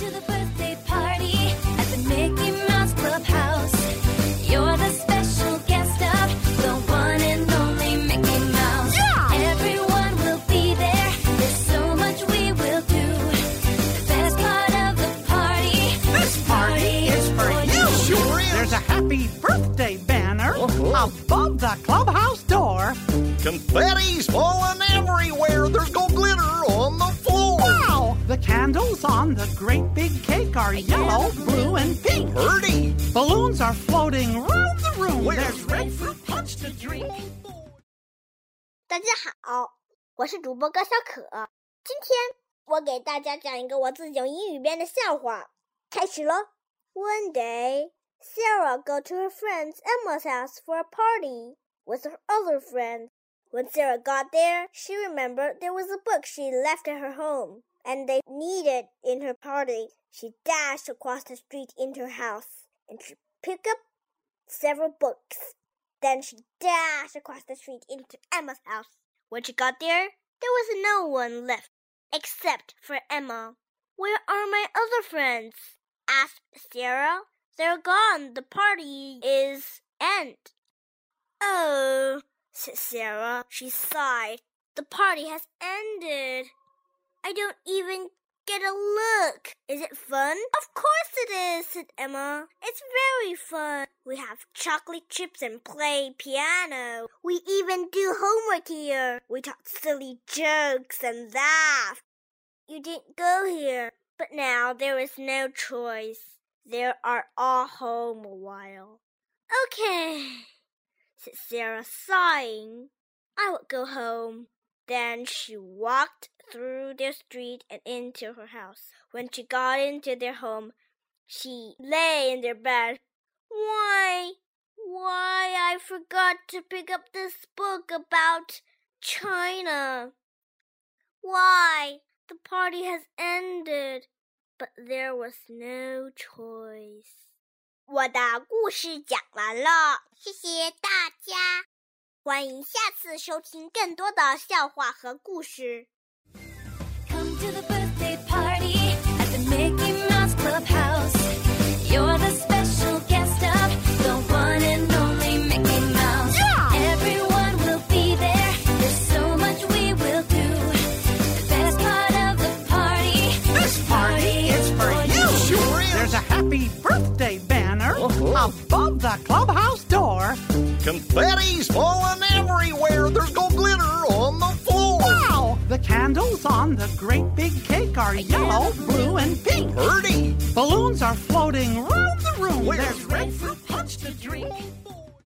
to the birthday party at the Mickey Mouse Clubhouse. You're the special guest of the one and only Mickey Mouse. Yeah! Everyone will be there. There's so much we will do. The best part of the party. This party is for you. Sure is. There's a happy birthday banner above the clubhouse door. Confetti's falling everywhere. There's gold glitter on the floor. Wow! The candles on the great big cake are yellow, blue, and pink. Pretty. Balloons are floating round the room. Where's There's red fruit punch to drink. 大家好，我是主播高小可。今天我给大家讲一个我自己用英语编的笑话。开始咯。One day, Sarah go to her friend Emma's house for a party with her other friend. When Sarah got there, she remembered there was a book she left at her home, and they needed in her party. She dashed across the street into her house, and she picked up several books. Then she dashed across the street into Emma's house. When she got there was no one left, except for Emma. Where are my other friends? Asked Sarah. They're gone. The party is end. Oh, said Sarah. She sighed. The party has ended. I don't even get a look. Is it fun? Of course it is, said Emma. It's very fun. We have chocolate chips and play piano. We even do homework here. We talk silly jokes and laugh. You didn't go here, but now there is no choice. They are all home a while. Okay, said Sarah, sighing. I will go home. Then she walked through their street and into her house. When she got into their home, she lay in their bed. Why, I forgot to pick up this book about China. Why, the party has ended, but there was no choice. 我的故事讲完了，谢谢大家，欢迎下次收听更多的笑话和故事。 Come to the birthday party at the Mickey Mouse Clubhouse. You're the special guest of the one and only Mickey Mouse. Yeah! Everyone will be there. There's so much we will do. The best part of the party. This party is for you. Sure is. There's a happy birthday banner above the clubhouse door. Confetti's falling everywhere. There's gold glitter on the floor. Wow! The candles on the great big cake are yellow, blue, and pink. Pretty.